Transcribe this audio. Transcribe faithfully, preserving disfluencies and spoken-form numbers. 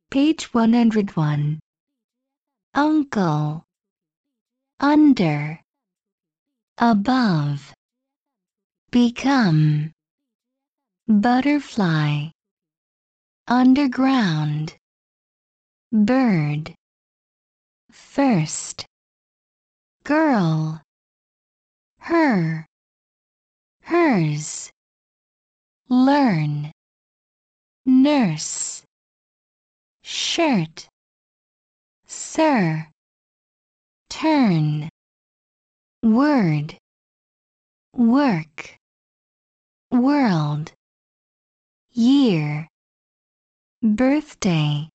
Page one hundred one. Uncle. Under. Above. Become. Butterfly. Underground. Bird. First. Girl. Her. Hers. Learn. Nurse. Shirt. Sir. Turn. Word. Work. World. Year. Birthday.